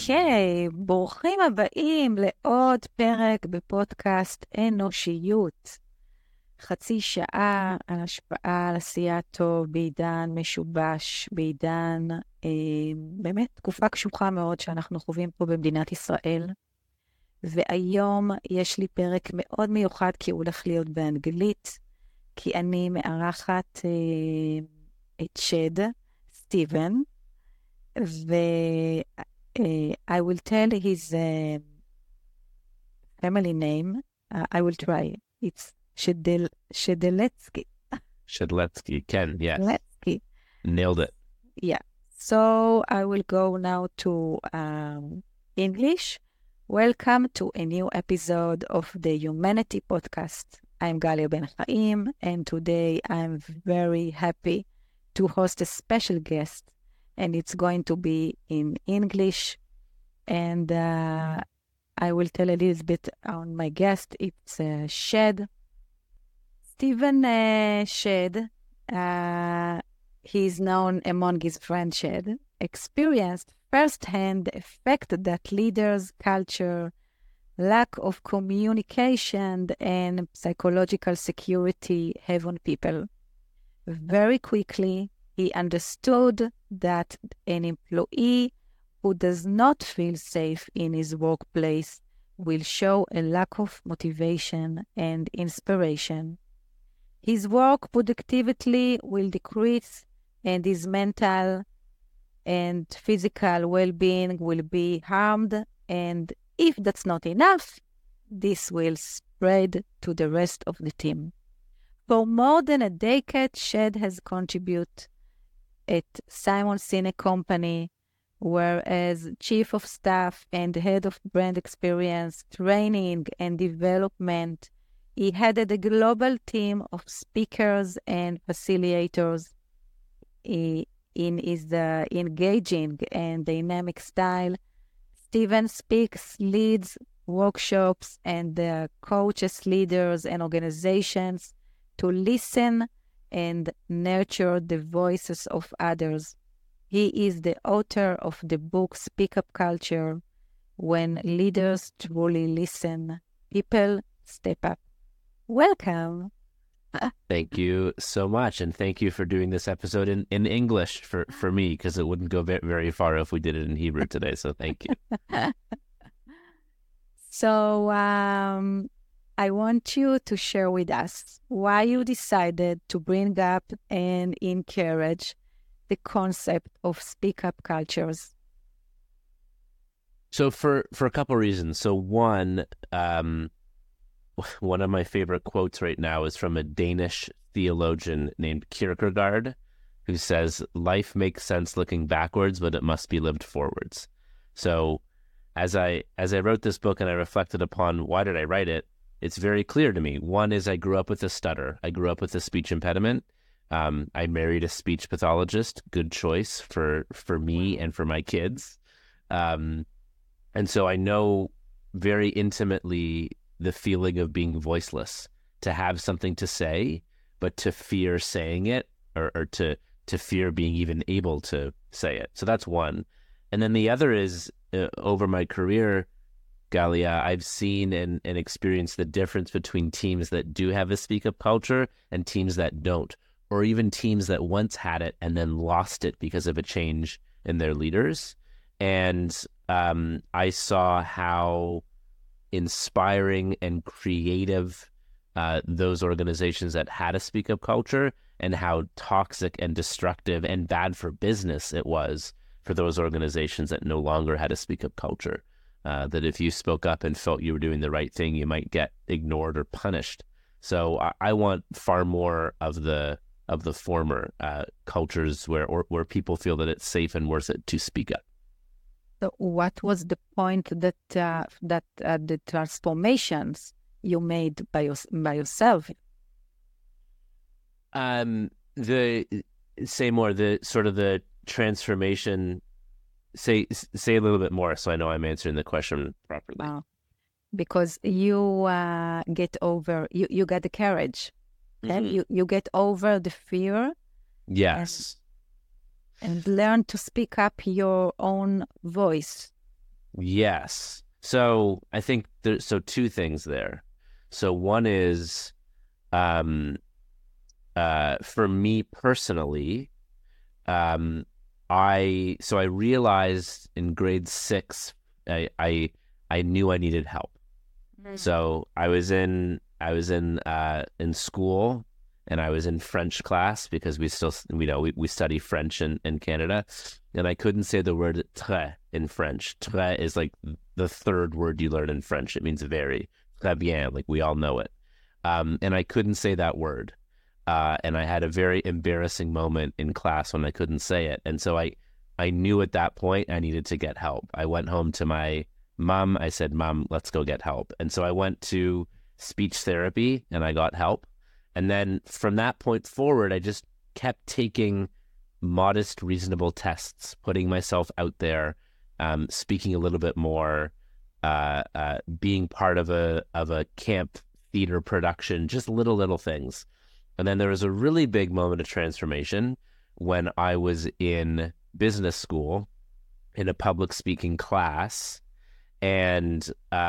אוקיי, ברוכים הבאים לעוד פרק בפודקאסט אנושיות. חצי שעה על השפעה על עשייה טוב בעידן משובש, בעידן באמת תקופה קשוחה מאוד שאנחנו חווים פה במדינת ישראל. והיום יש לי פרק מאוד מיוחד כי הוא הולך להיות באנגלית, כי אני מארחת את שד, סטיבן, I will tell his family name. I will try. It's Shedletsky. Shedletsky, Ken, yes. Shedletsky. Nailed it. Yeah. So I will go now to English. Welcome to a new episode of the Humanity Podcast. I'm Galia Ben Chaim, and today I'm very happy to host a special guest. And it's going to be in English. And I will tell a little bit on my guest. It's Shed. Stephen Shed, he is known among his friends Shed, experienced firsthand the effect that leaders, culture, lack of communication, and psychological security have on people. Very quickly, he understood that an employee who does not feel safe in his workplace will show a lack of motivation and inspiration. His work productivity will decrease, and his mental and physical well-being will be harmed. And if that's not enough, this will spread to the rest of the team. For more than a decade, Shed has contributed at Simon Sinek Company, where as Chief of Staff and Head of Brand Experience, Training and Development, he headed a global team of speakers and facilitators. In his engaging and dynamic style, Stephen speaks, leads workshops, and coaches leaders and organizations to listen and nurture the voices of others. He is the author of the book Speak Up Culture. When leaders truly listen, people step up. Welcome. Thank you so much. And thank you for doing this episode in English for me, because it wouldn't go very far if we did it in Hebrew today. So thank you. So I want you to share with us why you decided to bring up and encourage the concept of speak up cultures. So for a couple of reasons. So one of my favorite quotes right now is from a Danish theologian named Kierkegaard, who says, "Life makes sense looking backwards, but it must be lived forwards." So as I wrote this book and I reflected upon why did I write it, it's very clear to me. One is I grew up with a stutter. I grew up with a speech impediment. I married a speech pathologist. Good choice for me and for my kids. And so I know very intimately the feeling of being voiceless, to have something to say, but to fear saying it, or to fear being even able to say it. So that's one. And then the other is, over my career, Galia, I've seen and experienced the difference between teams that do have a speak-up culture and teams that don't, or even teams that once had it and then lost it because of a change in their leaders. And I saw how inspiring and creative those organizations that had a speak-up culture, and how toxic and destructive and bad for business it was for those organizations that no longer had a speak-up culture. That if you spoke up and felt you were doing the right thing, you might get ignored or punished. So I want far more of the former cultures where people feel that it's safe and worth it to speak up. So what was the point that the transformations you made by yourself? Say more, the sort of the transformation. Say a little bit more so I know I'm answering the question properly. Because you get over, you got the courage. Okay? Mm-hmm. You get over the fear. Yes. And learn to speak up your own voice. Yes. So I think there's two things there. So one is um for me personally, um I realized in grade 6 I knew I needed help. So I was in school, and I was in French class because we study French in Canada, and I couldn't say the word très in French. Très is like the third word you learn in French. It means very. Très bien, like we all know it. And I couldn't say that word. And I had a very embarrassing moment in class when I couldn't say it. And so I knew at that point I needed to get help. I went home to my mom. I said, Mom, let's go get help. And so I went to speech therapy and I got help. And then from that point forward, I just kept taking modest, reasonable tests, putting myself out there, speaking a little bit more, being part of a camp theater production, just little things. And then there was a really big moment of transformation when I was in business school in a public speaking class, and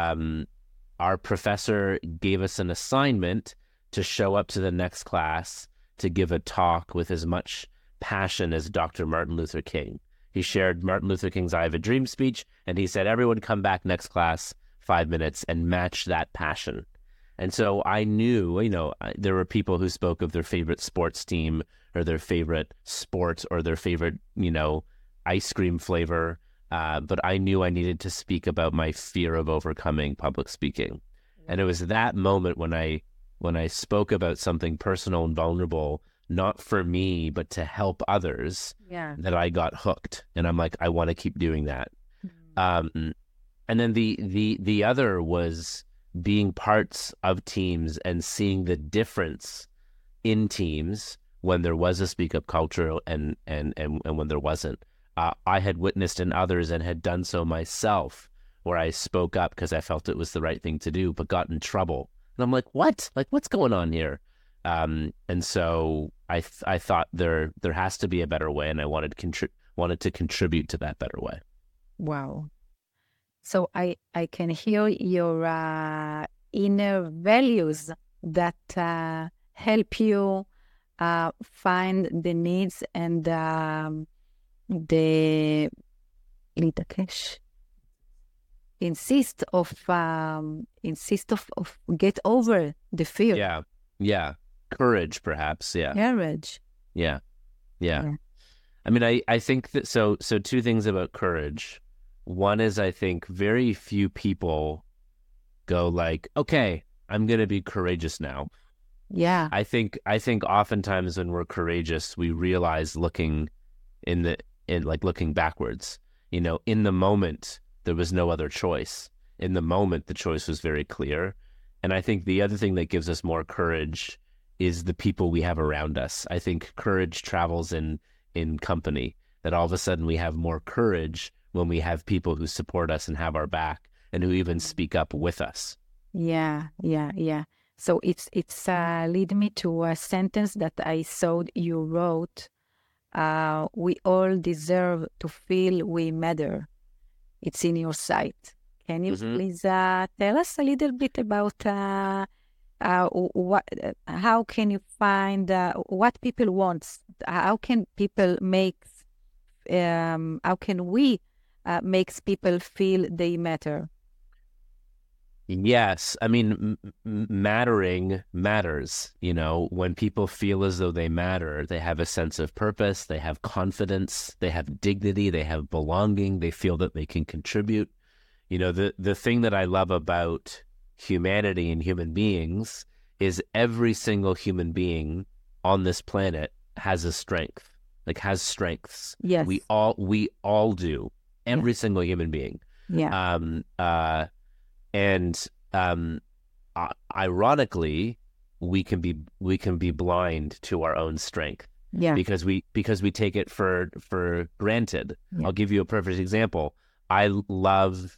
our professor gave us an assignment to show up to the next class to give a talk with as much passion as Dr. Martin Luther King. He shared Martin Luther King's I Have a Dream speech, and he said, everyone come back next class 5 minutes and match that passion. And so I knew, there were people who spoke of their favorite sports team or their favorite sport or their favorite, ice cream flavor. But I knew I needed to speak about my fear of overcoming public speaking. And it was that moment when I spoke about something personal and vulnerable, not for me, but to help others, that I got hooked. And I'm like, I want to keep doing that. And then the other was being parts of teams and seeing the difference in teams when there was a speak up culture and when there wasn't. I had witnessed in others and had done so myself, where I spoke up because I felt it was the right thing to do, but got in trouble. And I'm like, what? Like, what's going on here? And so I thought there has to be a better way, and I wanted to contribute to that better way. Wow. So I can hear your inner values that help you find the needs and the insist of get over the fear. Yeah. Courage, perhaps. Yeah. Courage. Yeah. I mean, I think that so two things about courage. One is, I think very few people go like, okay, I'm going to be courageous now. Yeah. I think oftentimes when we're courageous, we realize looking backwards, in the moment, there was no other choice. In the moment, the choice was very clear. And I think the other thing that gives us more courage is the people we have around us. I think courage travels in company, that all of a sudden we have more courage when we have people who support us and have our back and who even speak up with us. Yeah. So it's lead me to a sentence that I saw you wrote. We all deserve to feel we matter. It's in your site. Can you please tell us a little bit about how can you find what people want? How can people how can we makes people feel they matter? Yes. I mean, mattering matters. When people feel as though they matter, they have a sense of purpose, they have confidence, they have dignity, they have belonging, they feel that they can contribute. The thing that I love about humanity and human beings is every single human being on this planet has a strength, has strengths. Yes. We all do. Every single human being. Yeah. And ironically, we can be blind to our own strength. Yeah. Because we take it for granted. Yeah. I'll give you a perfect example. I love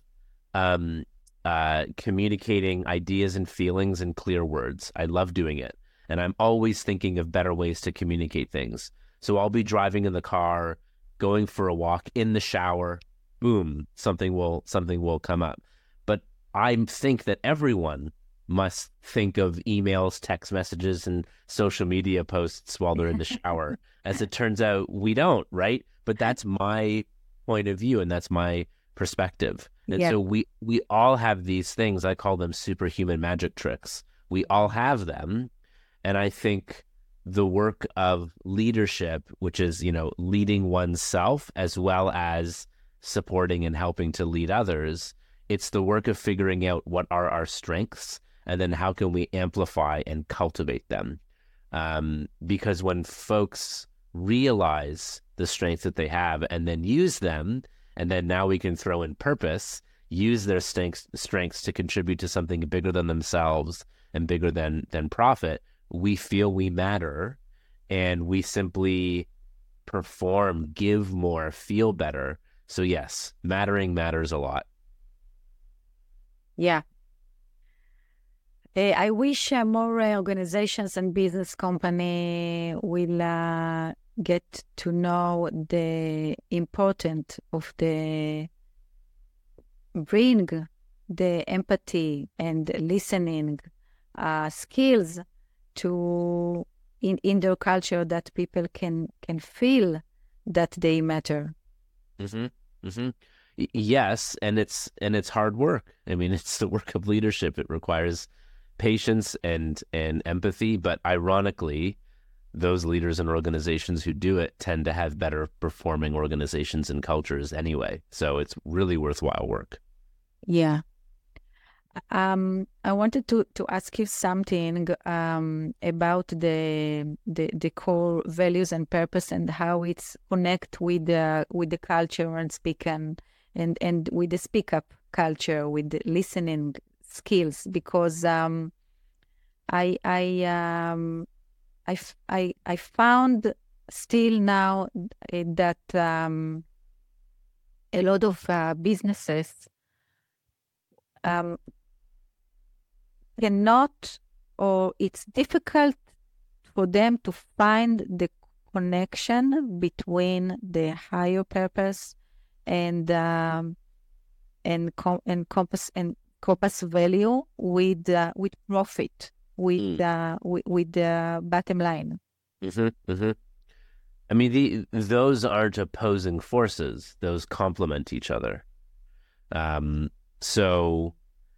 communicating ideas and feelings in clear words. I love doing it, and I'm always thinking of better ways to communicate things. So I'll be driving in the car, going for a walk, in the shower, boom, something will come up. But I think that everyone must think of emails, text messages, and social media posts while they're in the shower. As it turns out, we don't, right? But that's my point of view, and that's my perspective. And so we all have these things. I call them superhuman magic tricks. We all have them. And I think the work of leadership, which is, leading oneself as well as supporting and helping to lead others, it's the work of figuring out what are our strengths and then how can we amplify and cultivate them. Because when folks realize the strengths that they have and then use them, and then now we can throw in purpose, use their strengths to contribute to something bigger than themselves and bigger than profit, we feel we matter, and we simply perform, give more, feel better. So yes, mattering matters a lot. Yeah. I wish more organizations and business company will get to know the importance of the bring the empathy and listening skills to in their culture, that people can feel that they matter. Mm-hmm. Mm-hmm. Yes, and it's hard work. I mean, it's the work of leadership. It requires patience and empathy, but ironically, those leaders and organizations who do it tend to have better performing organizations and cultures anyway. So it's really worthwhile work. Yeah. I wanted to ask you something about the core values and purpose, and how it's connect with the culture and speak and with the speak up culture, with the listening skills, because I found still now that a lot of businesses cannot, or it's difficult for them to find the connection between the higher purpose and compass value with profit, with the bottom line. Mm-hmm, mm-hmm. I mean, those aren't opposing forces; those complement each other. So,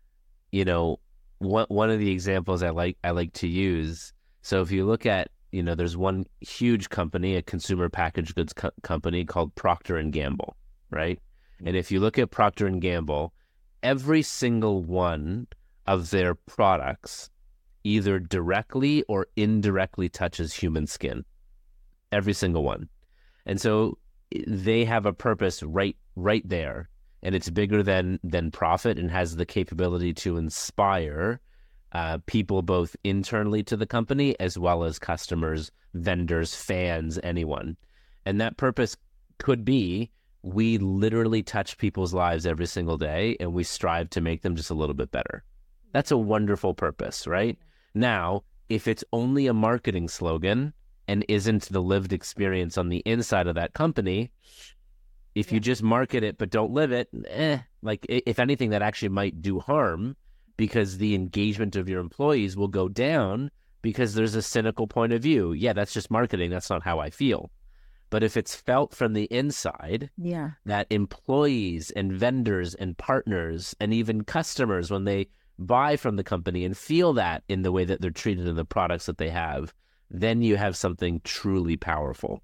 one of the examples I like to use. So if you look at, there's one huge company, a consumer packaged goods company called Procter & Gamble, right? And if you look at Procter & Gamble, every single one of their products either directly or indirectly touches human skin. Every single one. And so they have a purpose right there. And it's bigger than profit, and has the capability to inspire people both internally to the company as well as customers, vendors, fans, anyone. And that purpose could be, we literally touch people's lives every single day, and we strive to make them just a little bit better. That's a wonderful purpose, right? Now, if it's only a marketing slogan and isn't the lived experience on the inside of that company, if you just market it but don't live it, if anything, that actually might do harm, because the engagement of your employees will go down because there's a cynical point of view. Yeah, that's just marketing. That's not how I feel. But if it's felt from the inside, that employees and vendors and partners and even customers, when they buy from the company and feel that in the way that they're treated in the products that they have, then you have something truly powerful.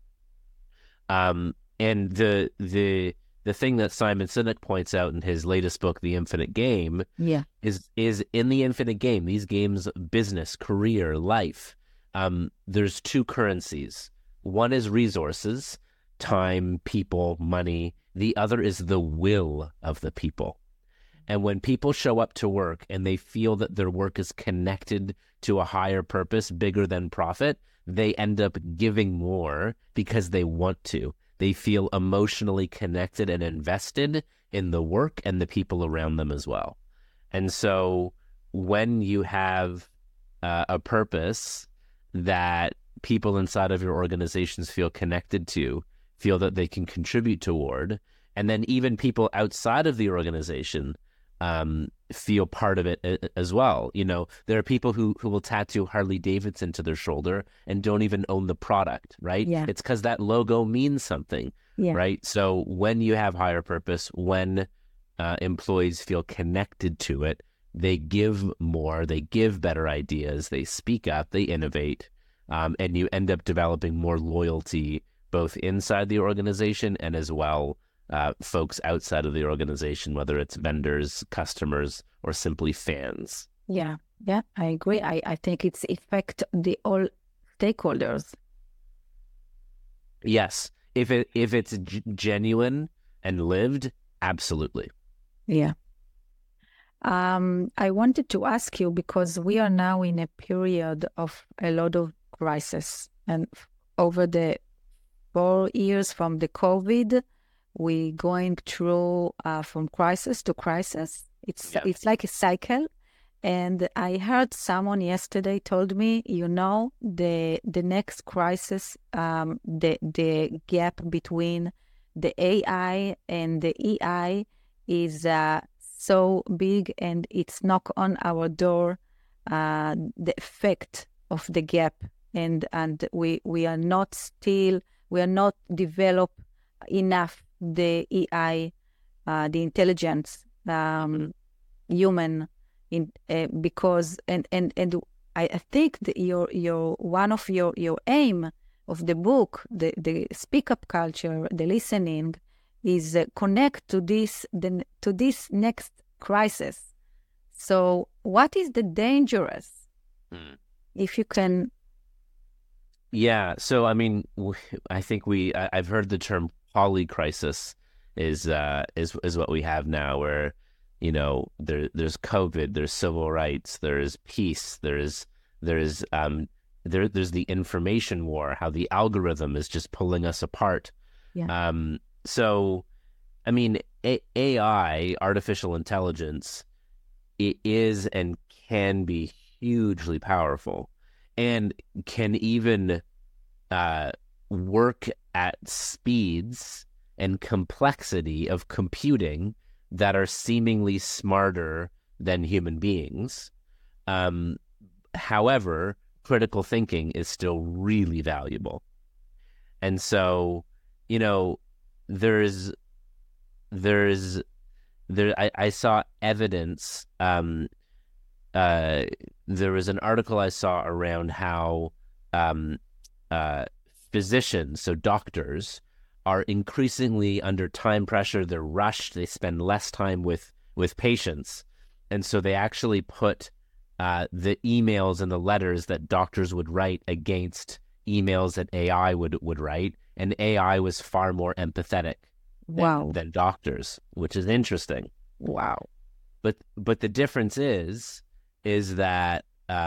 And the thing that Simon Sinek points out in his latest book, The Infinite Game, is in the infinite game, these games, business, career, life, there's two currencies. One is resources, time, people, money. The other is the will of the people. And when people show up to work and they feel that their work is connected to a higher purpose, bigger than profit, they end up giving more because they want to. They feel emotionally connected and invested in the work and the people around them as well. And so when you have a purpose that people inside of your organizations feel connected to, feel that they can contribute toward, And then even people outside of the organization feel part of it as well. You know, there are people who will tattoo Harley Davidson to their shoulder and don't even own the product, right? Yeah. It's because that logo means something, Yeah. right? So when you have higher purpose, when employees feel connected to it, they give more, they give better ideas, they speak up, they innovate, and you end up developing more loyalty both inside the organization and as well folks outside of the organization, whether it's vendors, customers, or simply fans. Yeah, yeah, I agree. I think it's affect the all stakeholders. Yes, if it's genuine and lived, absolutely. Yeah. I wanted to ask you because we are now in a period of a lot of crisis, and over the 4 years from the COVID, we going through from crisis to crisis. It's like a cycle. And I heard someone yesterday told me, you know, the next crisis, the gap between the AI and the EI is so big, and it's knock on our door, the effect of the gap, and we are not developed enough the EI, the intelligence, human, because I think that your one of your aim of the book, the speak up culture, the listening, is connect to this next crisis. So what is the dangerous? If you can. Yeah. So, I mean, I think I've heard the term polycrisis is what we have now, where, you know, there's COVID, there's civil rights, there's peace, there's the information war, how the algorithm is just pulling us apart. Yeah. So, I mean, AI, artificial intelligence, it is and can be hugely powerful, and can even work at speeds and complexity of computing that are seemingly smarter than human beings. However, critical thinking is still really valuable. And so, you know, I saw evidence. There was an article I saw around how physicians, so doctors, are increasingly under time pressure. They're rushed. They spend less time with patients. And so they actually put the emails and the letters that doctors would write against emails that AI would write. And AI was far more empathetic than doctors, which is interesting. Wow. But the difference is that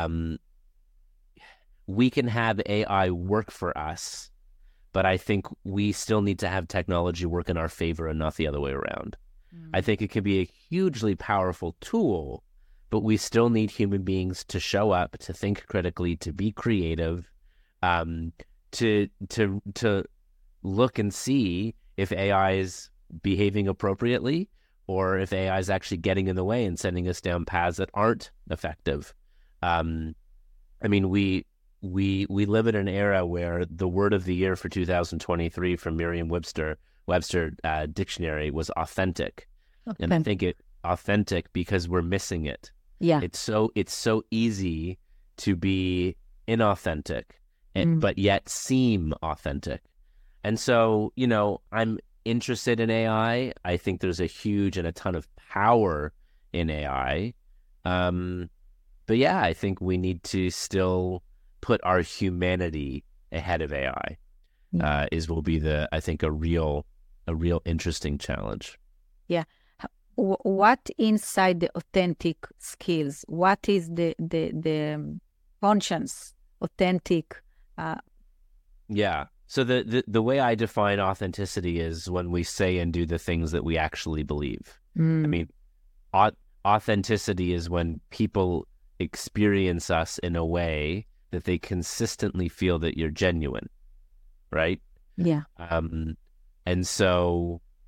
we can have AI work for us, but I think we still need to have technology work in our favor and not the other way around. I think it can be a hugely powerful tool, but we still need human beings to show up, to think critically, to be creative, to look and see if AI is behaving appropriately, or if AI is actually getting in the way and sending us down paths that aren't effective. I mean, we live in an era where the word of the year for 2023 from Merriam-Webster dictionary was authentic. And I think authentic because we're missing it. Yeah. It's so easy to be inauthentic, but yet seem authentic. And so, you know, I'm interested in AI. I think there's a huge and a ton of power in AI. But yeah, I think we need to still put our humanity ahead of AI. Will be I think a real interesting challenge. Yeah. What inside the authentic skills? What is the conscience authentic? Yeah. So the way I define authenticity is when we say and do the things that we actually believe. I mean, authenticity is when people experience us in a way that they consistently feel that you're genuine, right? Yeah. And so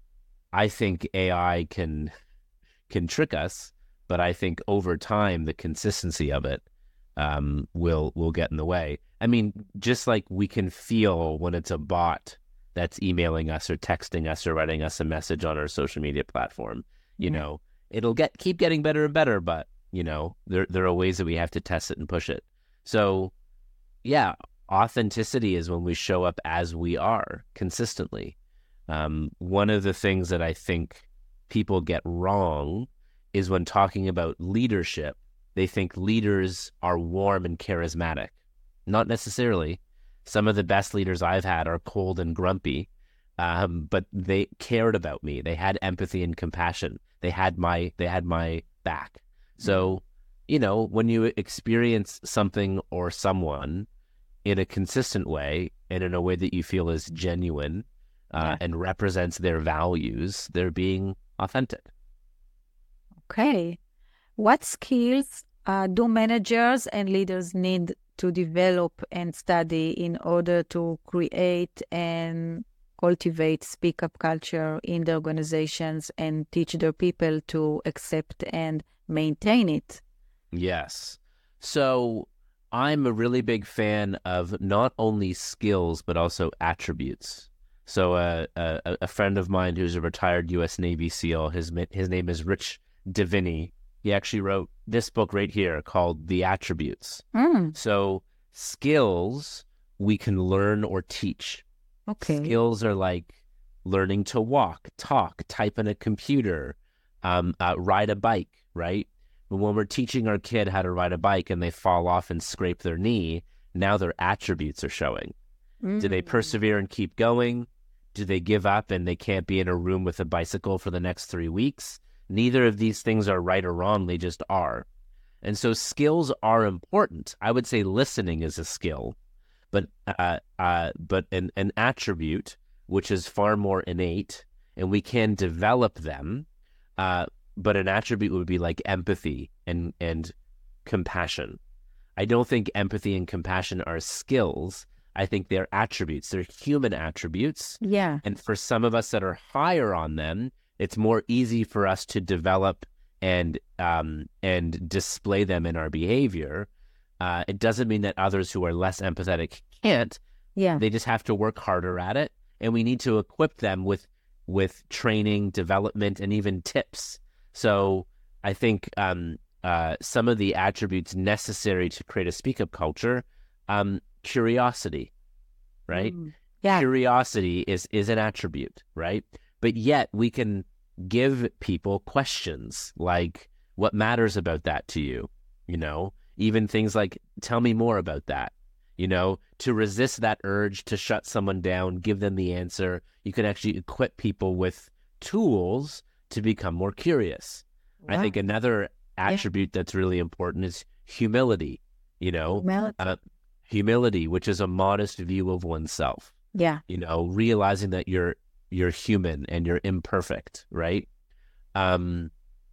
I think AI can trick us, but I think over time the consistency of it will get in the way. I mean, just like we can feel when it's a bot that's emailing us or texting us or writing us a message on our social media platform, you know, it'll keep getting better and better, but you know, there are ways that we have to test it and push it. So yeah, authenticity is when we show up as we are consistently. One of the things that I think people get wrong is when talking about leadership, they think leaders are warm and charismatic. Not necessarily. Some of the best leaders I've had are cold and grumpy, but they cared about me. They had empathy and compassion. They had my back. So, you know, when you experience something or someone in a consistent way and in a way that you feel is genuine and represents their values, they're being authentic. Okay. What skills do managers and leaders need to develop and study in order to create and cultivate speak-up culture in the organizations and teach their people to accept and maintain it? Yes. So I'm a really big fan of not only skills, but also attributes. So a friend of mine who's a retired U.S. Navy SEAL, his name is Rich Divini. He actually wrote this book right here called The Attributes. So skills we can learn or teach. Okay. Skills are like learning to walk, talk, type on a computer, ride a bike, right? But when we're teaching our kid how to ride a bike and they fall off and scrape their knee, now their attributes are showing. Do they persevere and keep going? Do they give up and they can't be in a room with a bicycle for the next 3 weeks? Neither of these things are right or wrong. They just are. And so skills are important. I would say listening is a skill, but an attribute, which is far more innate, and we can develop them. But an attribute would be like empathy and compassion. I don't think empathy and compassion are skills. I think they're attributes. They're human attributes. Yeah. And for some of us that are higher on them, it's more easy for us to develop and display them in our behavior. It doesn't mean that others who are less empathetic can't. Yeah. They just have to work harder at it. And we need to equip them with training, development, and even tips. So I think some of the attributes necessary to create a speak-up culture, curiosity, right? Yeah. Curiosity is an attribute, right? But yet we can give people questions like, what matters about that to you? You know, even things like, tell me more about that. You know, to resist that urge to shut someone down, give them the answer. You can actually equip people with tools to become more curious. Wow. I think another attribute that's really important is humility, you know, humility, which is a modest view of oneself. Yeah. You know, realizing that you're human and you're imperfect, right? And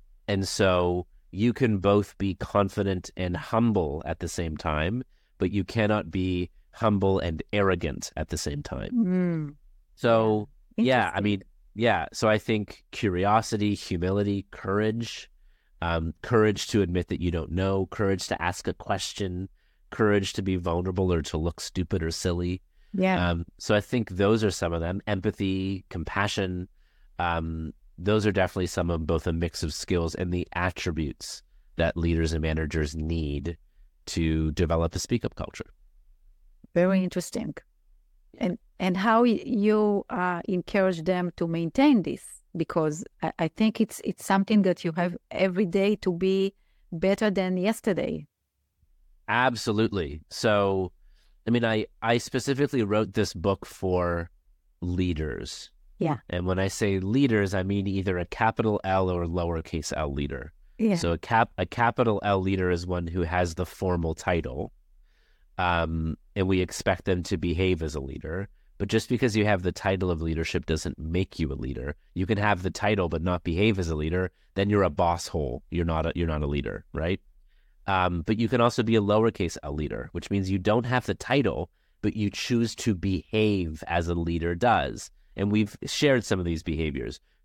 so you can both be confident and humble at the same time, but you cannot be humble and arrogant at the same time. So, yeah, I mean, yeah. So I think curiosity, humility, courage, courage to admit that you don't know, courage to ask a question, courage to be vulnerable or to look stupid or silly. Yeah. So I think those are some of them. Empathy, compassion, those are definitely some of both a mix of skills and the attributes that leaders and managers need to develop a speak-up culture. Very interesting. And how you encourage them to maintain this? Because I think it's something that you have every day to be better than yesterday. Absolutely. So, I mean, I specifically wrote this book for leaders. Yeah. And when I say leaders, I mean either a capital L or lowercase l leader. Yeah. So a capital L leader is one who has the formal title, and we expect them to behave as a leader. But just because you have the title of leadership doesn't make you a leader. You can have the title but not behave as a leader. Then you're a boss hole. You're not a leader, right? But you can also be a lowercase l leader, which means you don't have the title, but you choose to behave as a leader does. And we've shared some of these behaviors: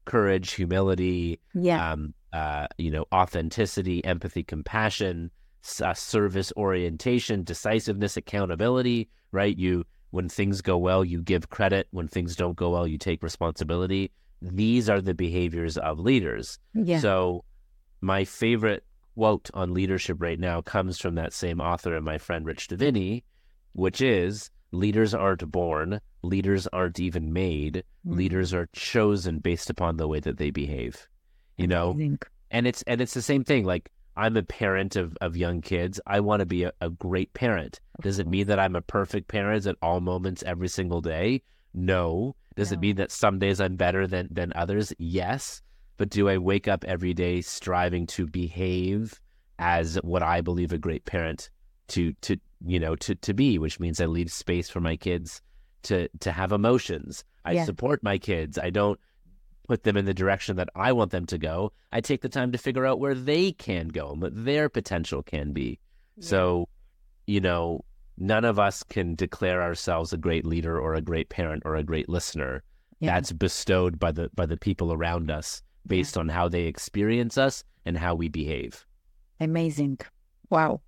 courage, humility, Yeah. authenticity, empathy, compassion, service orientation, decisiveness, accountability, right? When things go well, you give credit. When things don't go well, you take responsibility. These are the behaviors of leaders. Yeah. So my favorite quote on leadership right now comes from that same author and my friend Rich Davini, which is, leaders aren't born, leaders aren't even made, leaders are chosen based upon the way that they behave, Amazing. And it's the same thing. Like, I'm a parent of young kids. I want to be a great parent. Does it mean that I'm a perfect parent at all moments every single day? No. Does it mean that some days I'm better than others? Yes. But do I wake up every day striving to behave as what I believe a great parent to be, which means I leave space for my kids to have emotions. I support my kids. I don't put them in the direction that I want them to go. I take the time to figure out where they can go and what their potential can be. Yeah. So, none of us can declare ourselves a great leader or a great parent or a great listener. Yeah. That's bestowed by the people around us based on how they experience us and how we behave. Amazing. Wow.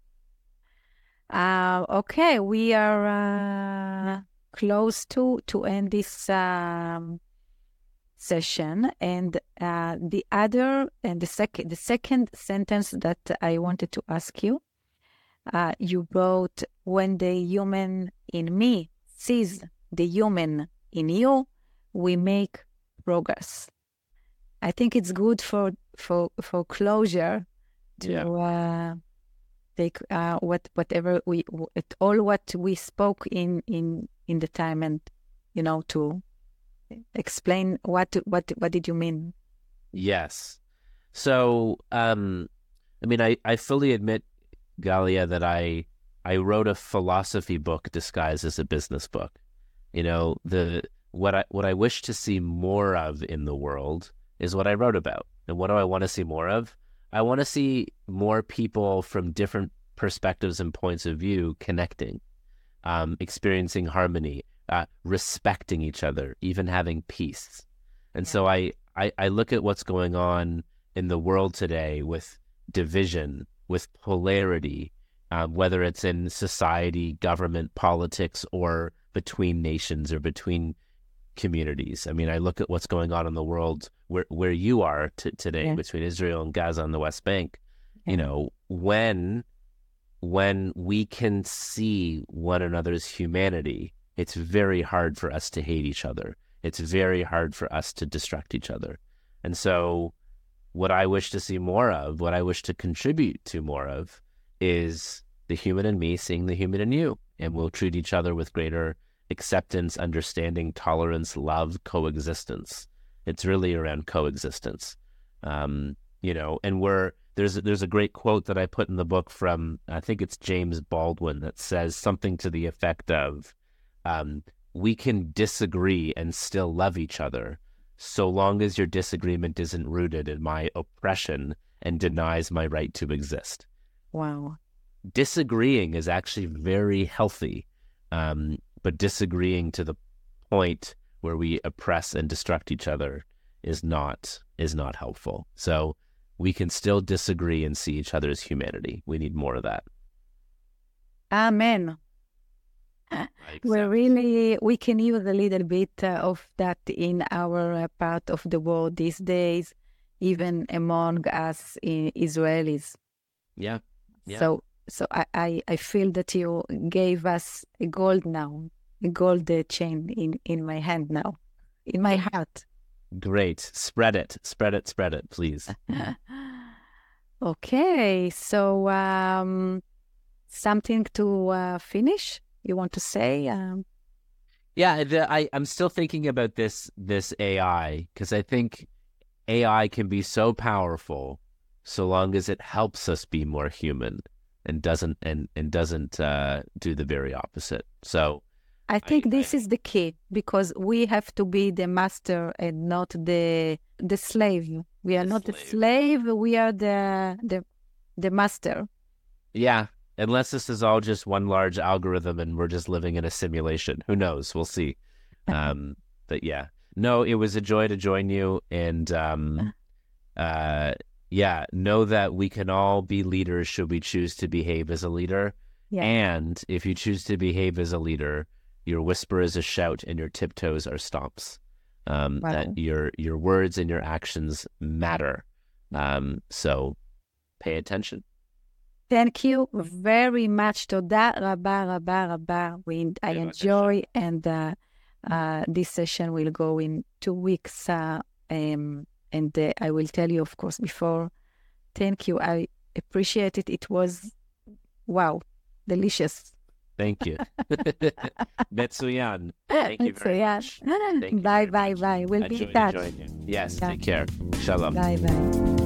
Okay, we are close to end this session, and the second sentence that I wanted to ask you, you wrote, "When the human in me sees the human in you, we make progress." I think it's good for closure to take whatever what we spoke in the time, and to explain what did you mean. Yes. So I fully admit, Galia, that I wrote a philosophy book disguised as a business book. What I wish to see more of in the world is what I wrote about. And what do I want to see more of? I want to see more people from different perspectives and points of view connecting, experiencing harmony, respecting each other, even having peace. And so I look at what's going on in the world today with division, with polarity, whether it's in society, government, politics, or between nations or between communities. I look at what's going on in the world where you are today, between Israel and Gaza and the West Bank. When we can see one another's humanity, it's very hard for us to hate each other. It's very hard for us to destruct each other. And so what I wish to see more of, what I wish to contribute to more of, is the human in me seeing the human in you. And we'll treat each other with greater acceptance, understanding, tolerance, love, coexistence. It's really around coexistence. And there's a great quote that I put in the book from, I think it's James Baldwin, that says something to the effect of, we can disagree and still love each other so long as your disagreement isn't rooted in my oppression and denies my right to exist. Wow. Disagreeing is actually very healthy. But disagreeing to the point where we oppress and destruct each other is not helpful. So we can still disagree and see each other's humanity. We need more of that. Amen. We can use a little bit of that in our part of the world these days, even among us Israelis. Yeah. So I feel that you gave us a gold chain in my hand now, in my heart. Great. Spread it, please. Okay. So something to finish? You want to say? I'm still thinking about this AI, because I think AI can be so powerful so long as it helps us be more human and doesn't do the very opposite. So I think this is the key, because we have to be the master and not the slave. We are not the slave. We are the master. Yeah. Unless this is all just one large algorithm and we're just living in a simulation. Who knows? We'll see. But yeah. No, it was a joy to join you. And know that we can all be leaders should we choose to behave as a leader. Yeah. And if you choose to behave as a leader, your whisper is a shout and your tiptoes are stomps. That your words and your actions matter. So pay attention. Thank you very much. Toda raba raba raba. I enjoy, and this session will go in 2 weeks. And I will tell you, of course, before. Thank you. I appreciate it. It was, wow, delicious. Thank you. Metsuyan. Thank you very much. Bye. We'll be in touch. Yes, take care. Shalom. Bye.